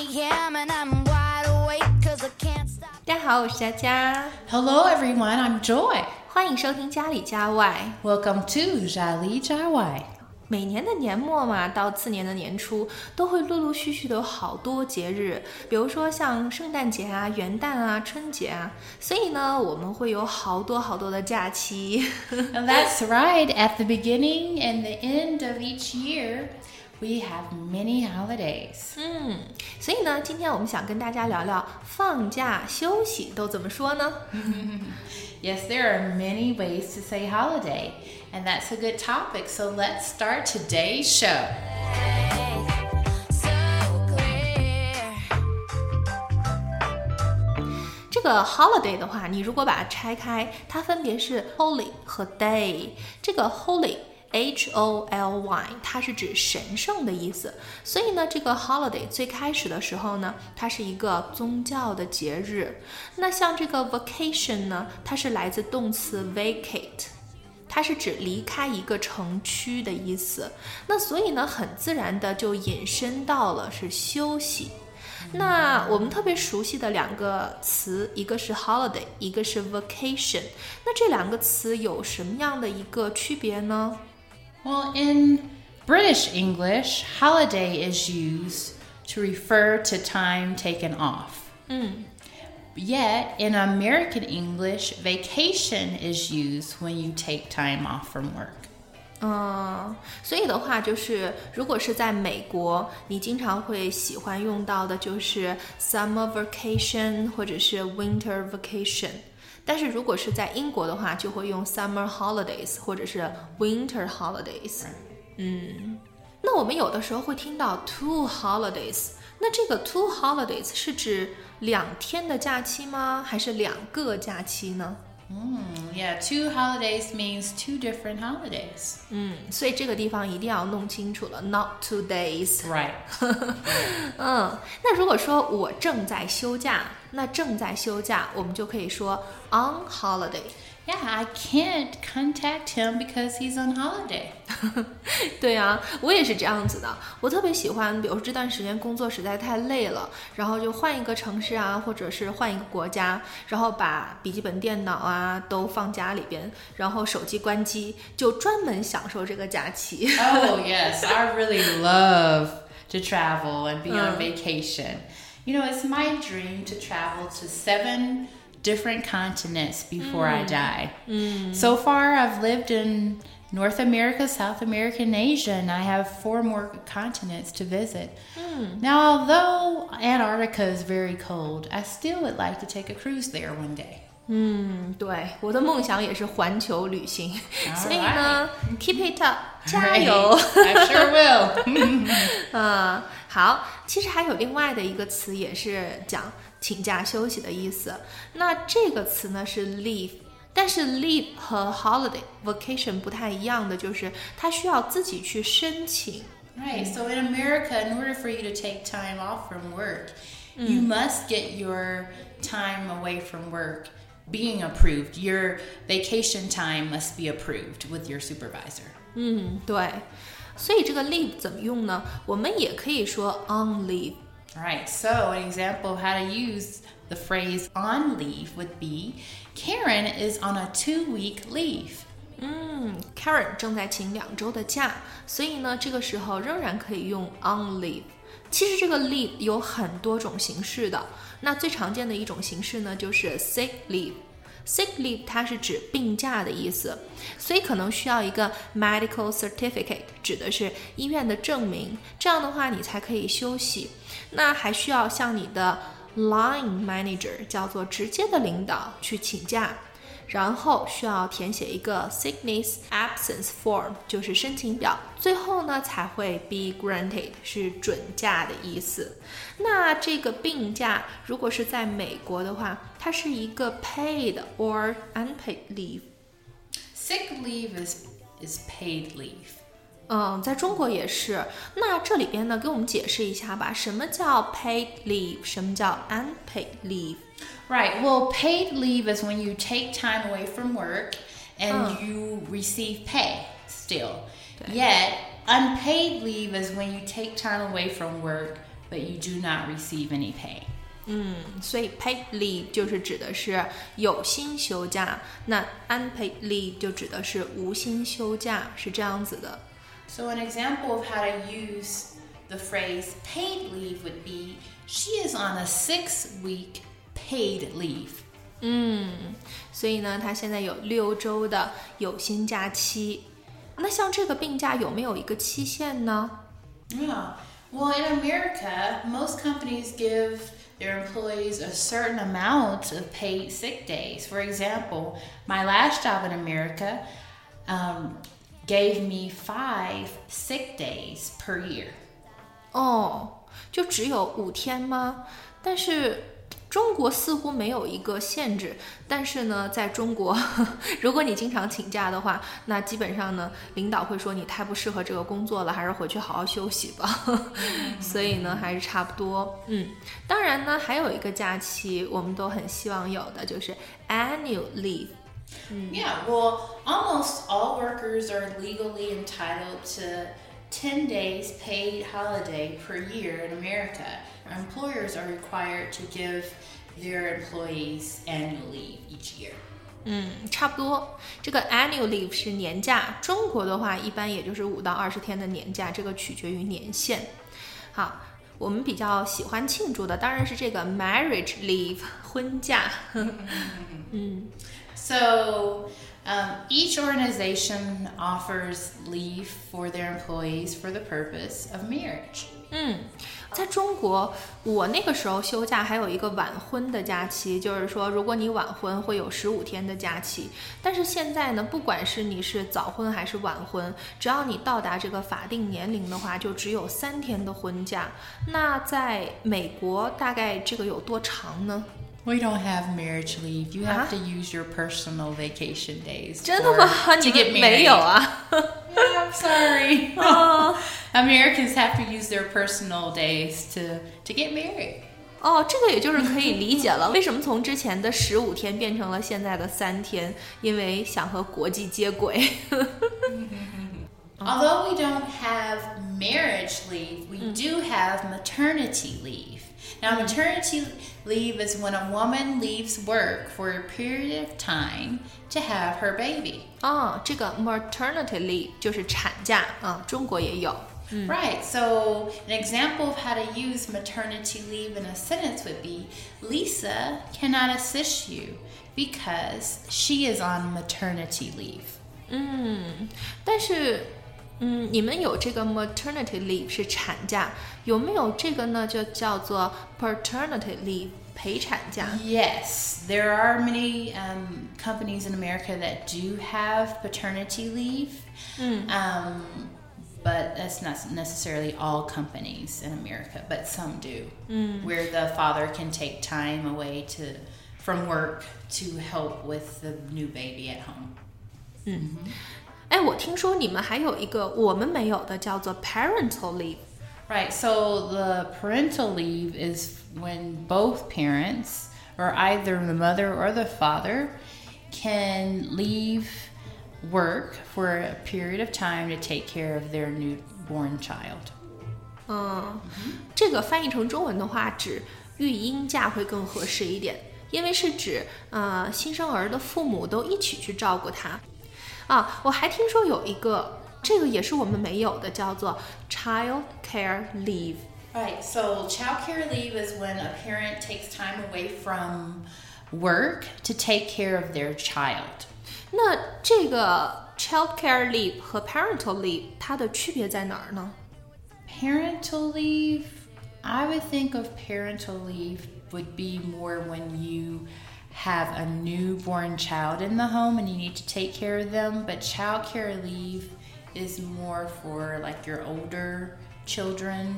a.m. and I'm wide awake 'cause I can't stop. 大家好，我是佳佳， Hello everyone, I'm Joy. 欢迎收听家里家外。 Welcome to 家里家外。 每年的年末嘛，到次年的年初，都会陆陆续续的有好多节日，比如说像圣诞节啊、元旦啊、春节啊，所以呢，我们会有好多的假期。 And that's right, at the beginning and the end of each year, we have many holidays. 所以呢，今天我们想跟大家聊聊放假休息都怎么说呢？ Yes, there are many ways to say holiday, and that's a good topic. So let's start today's show. So clear. 这个 holiday 的话，你如果把它拆开，它分别是 holy 和 day。这个 holy。Holy， 它是指神圣的意思，所以呢，这个 holiday 最开始的时候呢，它是一个宗教的节日。那像这个 vacation 呢，它是来自动词 vacate， 它是指离开一个城区的意思。那所以呢，很自然的就引申到了是休息。那我们特别熟悉的两个词，一个是 holiday， 一个是 vacation。那这两个词有什么样的一个区别呢？ Well, in British English, holiday is used to refer to time taken off. Yet, in American English, vacation is used when you take time off from work. 所以的话就是，如果是在美国，你经常会喜欢用到的就是 summer vacation 或者是 winter vacation。但是如果是在英国的话，就会用 summer holidays 或者是 winter holidays。那我们有的时候会听到 two holidays， 那这个 two holidays 是指2天的假期吗？还是2个假期呢 Yeah, 2 holidays means 2 different holidays. 所以这个地方一定要弄清楚了 ，not 2 days。 Right. 那如果说我正在休假，那正在休假，我们就可以说 on holiday。 Yeah, I can't contact him because he's on holiday. 对啊，我也是这样子的。我特别喜欢，比如说这段时间工作实在太累了，然后就换一个城市啊，或者是换一个国家，然后把笔记本电脑啊都放家里边，然后手机关机，就专门享受这个假期。 Oh, yes, I really love to travel and be on vacation. You know, it's my dream to travel to 7 different continents before I die. So far, I've lived in North America, South America, and Asia, and I have 4 more continents to visit. Now, although Antarctica is very cold, I still would like to take a cruise there one day. 对，我的梦想也是环球旅行， All 所以呢 ，keep it up， 加 Right. 油！ I sure will. 好，其实还有另外的一个词也是讲请假休息的意思。那这个词呢是 leave， 但是 leave 和 holiday、vacation 不太一样的，就是它需要自己去申请。 Right. So in America, in order for you to take time off from work, you must get your time away from work being approved. Your vacation time must be approved with your supervisor. 对，所以这个 leave 怎么用呢？我们也可以说 on leave。 Right. So an example of how to use the phrase on leave would be, Karen is on a 2-week leave. Karen 正在请2周的假，所以呢，这个时候仍然可以用 on leave。其实这个 leave 有很多种形式的，那最常见的一种形式呢，就是 sick leave。sick leave 它是指病假的意思，所以可能需要一个 medical certificate， 指的是医院的证明，这样的话你才可以休息。那还需要向你的 line manager， 叫做直接的领导去请假。然后需要填写一个 sickness absence form， 就是申请表，最后呢才会 be granted， 是准假的意思。那这个病假如果是在美国的话，它是一个 paid or unpaid leave。 Sick leave is paid leave. 在中国也是。那这里边呢，给我们解释一下吧，什么叫 paid leave， 什么叫 unpaid leave？ Right. Well, paid leave is when you take time away from work and you receive pay still. Yet, unpaid leave is when you take time away from work but you do not receive any pay. 所以 paid leave 就是指的是有薪休假，那 unpaid leave 就指的是无薪休假，是这样子的。 So an example of how to use the phrase paid leave would be, she is on a 6-week paid leave. 所以呢，他现在有6周的有薪假期。那像这个病假有没有一个期限呢？ Yeah. Well, in America, most companies give their employees a certain amount of paid sick days. For example, my last job in America gave me 5 sick days per year. 就只有5天吗？但是中国似乎没有一个限制，但是呢，在中国，如果你经常请假的话，那基本上呢，领导会说你太不适合这个工作了，还是回去好好休息吧。所以呢，还是差不多。当然呢，还有一个假期我们都很希望有的，就是 annual leave。 Yeah, well, almost all workers are legally entitled to 10 days paid holiday per year in America. Employers are required to give their employees annual leave each year. 差不多。这个 annual leave 是年假，中国的话一般也就是5到20天的年假，这个取决于年限。好，我们比较喜欢庆祝的当然是这个 marriage leave 婚假。 So each organization offers leave for their employees for the purpose of marriage. 在中国，我那个时候休假还有一个晚婚的假期，就是说，如果你晚婚会有15天的假期。但是现在呢，不管是你是早婚还是晚婚，只要你到达这个法定年龄的话，就只有3天的婚假。那在美国，大概这个有多长呢？ We don't have marriage leave. You have to use your personal vacation days 真的吗？ to 你 get 们 married. 没有啊？ Yeah, I'm sorry. Americans have to use their personal days to get married. 这个也就是可以理解了，为什么从之前的15天变成了现在的3天？因为想和国际接轨。 Although we don't have marriage leave, we do have maternity leave. Now, maternity leave is when a woman leaves work for a period of time to have her baby. 这个 maternity leave 就是产假中国也有。 Right. So an example of how to use maternity leave in a sentence would be, Lisa cannot assist you because she is on maternity leave. 但是你们有这个 maternity leave 是产假，有没有这个呢？就叫做 paternity leave 陪产假。 Yes, there are many companies in America that do have paternity leave, but that's not necessarily all companies in America, but some do, where the father can take time away from work to help with the new baby at home. 我听说你们还有一个我们没有的，叫做 parental leave。 Right, so the parental leave is when both parents, or either the mother or the father, can leave work for a period of time to take care of their newborn child. 这个翻译成中文的话，指育婴假会更合适一点，因为是指新生儿的父母都一起去照顾他。我还听说有一个，这个也是我们没有的，叫做 child care leave。 Right, so child care leave is when a parent takes time away from work to take care of their child. 那这个 child care leave 和 parental leave 它的区别在哪儿呢？ Parental leave, I would think of parental leave would be more when you have a newborn child in the home and you need to take care of them, but child care leave is more for like your older children.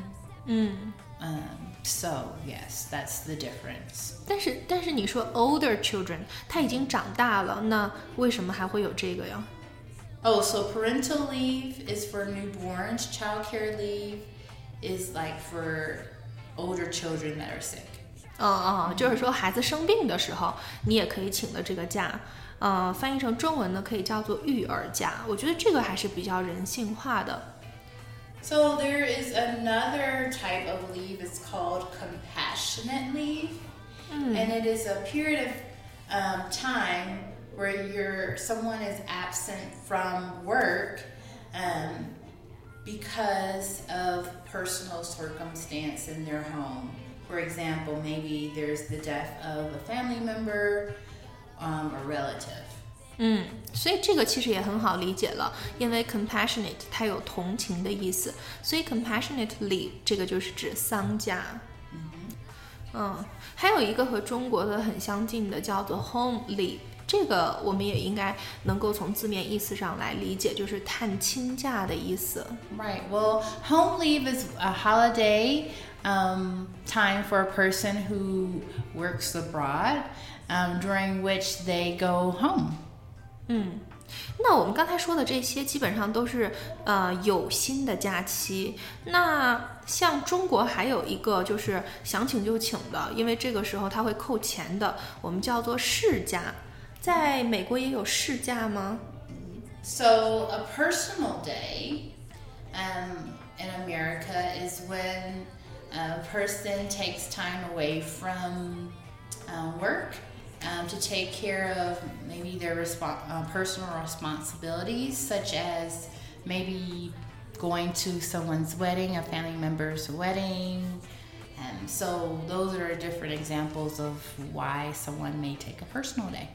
So yes, that's the difference. 但是你说 older children 他已经长大了，那为什么还会有这个呀？ Oh, so parental leave is for newborns. Child care leave is like for older children that are sick. 就是说孩子生病的时候，你也可以请的这个假。翻译成中文呢，可以叫做育儿假。我觉得这个还是比较人性化的。 So there is another type of leave. It's called compassionate leave, and it is a period of time where someone is absent from work because of personal circumstance in their home. For example, maybe there's the death of a family member or relative. 所以这个其实也很好理解了，因为 compassionate 它有同情的意思，所以 compassionate leave 这个就是指丧假。还有一个和中国的很相近的叫做 home leave， 这个我们也应该能够从字面意思上来理解，就是探亲假的意思。 Right. Well, home leave is a holiday time for a person who works abroad, during which they go home. 那我们刚才说的这些基本上都是有薪的假期。那像中国还有一个就是想请就请的，因为这个时候它会扣钱的，我们叫做事假。在美国也有事假吗？ So a personal day in America is when a person takes time away from work to take care of maybe their personal responsibilities, such as maybe going to someone's wedding, a family member's wedding. So those are different examples of why someone may take a personal day.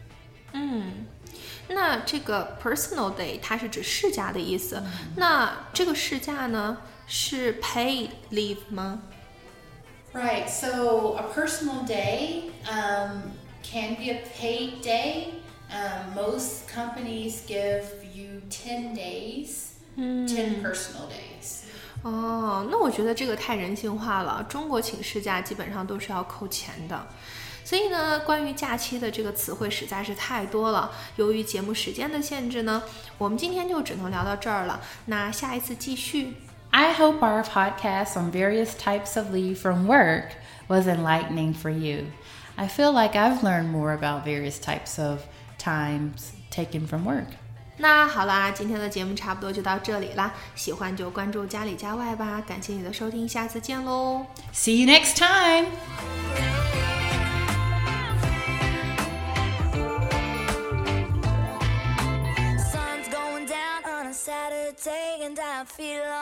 那这个 personal day 它是指事假的意思。那这个事假呢是 paid leave 吗？ Right. So a personal day can be a paid day. Most companies give you 10 days, 10 personal days. 那我觉得这个太人性化了。中国请事假基本上都是要扣钱的。所以呢，关于假期的这个词汇实在是太多了。由于节目时间的限制呢，我们今天就只能聊到这儿了。那下一次继续。 I hope our podcast on various types of leave from work was enlightening for you. I feel like I've learned more about various types of times taken from work. 那好啦，今天的节目差不多就到这里啦。喜欢就关注家里家外吧。感谢你的收听，下次见喽。 See you next time. Sun's going down on a Saturday and I feel